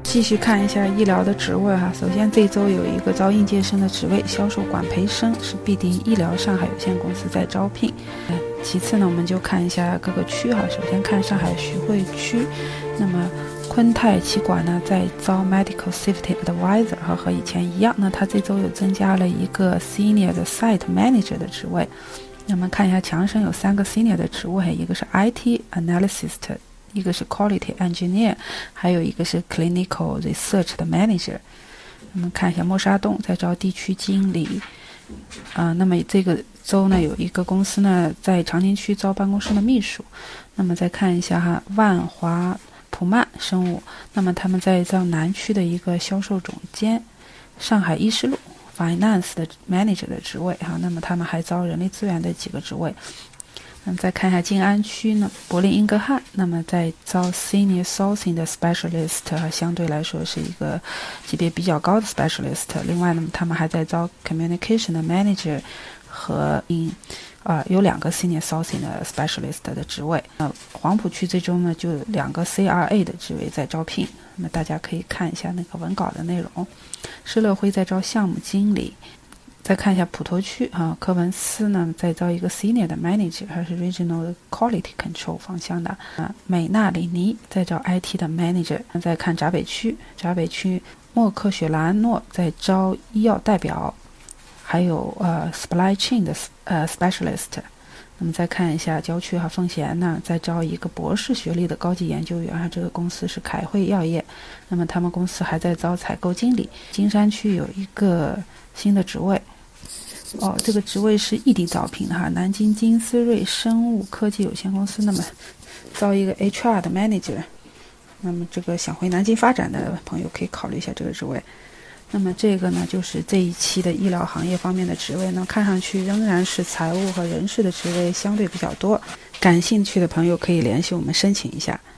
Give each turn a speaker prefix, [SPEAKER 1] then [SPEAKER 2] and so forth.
[SPEAKER 1] 继续看一下医疗的职位哈。首先这周有一个招应届生的职位，销售管培生，是必迪医疗上海有限公司在招聘。其次呢，我们就看一下各个区哈。首先看上海徐汇区，那么昆泰气管呢在招 Medical Safety Advisor 哈，和以前一样，那它这周又增加了一个 Senior 的 Site Manager 的职位。那么看一下强生有3个 Senior 的职位，一个是 IT Analyst， 一个是 Quality Engineer， 还有一个是 Clinical Research 的 Manager。那么看一下默沙东在招地区经理。那么这个周呢有一个公司呢在长宁区招办公室的秘书。那么再看一下哈，万华普曼生物，那么他们在招南区的一个销售总监。上海伊势路 Finance 的 Manager 的职位哈，那么他们还招人力资源的几个职位。那么再看一下静安区呢，柏林英格汉，那么在招 Senior Sourcing 的 Specialist， 相对来说是一个级别比较高的 Specialist。另外呢，他们还在招 Communication 的 Manager 和有2个 Senior Sourcing 的 Specialist 的职位。黄浦区这周呢就有2个 CRA 的职位在招聘，那么大家可以看一下那个文稿的内容。施乐辉在招项目经理。再看一下普陀区科文斯呢在招一个 Senior 的 Manager， 还是 Regional Quality Control 方向的。美纳里尼在招 IT 的 Manager。再看闸北区默克雪兰诺在招医药代表，还有Supply Chain 的Specialist。那么再看一下郊区奉贤呢在招一个博士学历的高级研究员，这个公司是凯汇药业。那么他们公司还在招采购经理。金山区有一个新的职位，这个职位是异地招聘的哈，南京金思瑞生物科技有限公司，那么招一个 HR 的 Manager。那么这个想回南京发展的朋友可以考虑一下这个职位。那么这个呢就是这一期的医疗行业方面的职位呢，看上去仍然是财务和人事的职位相对比较多，感兴趣的朋友可以联系我们申请一下。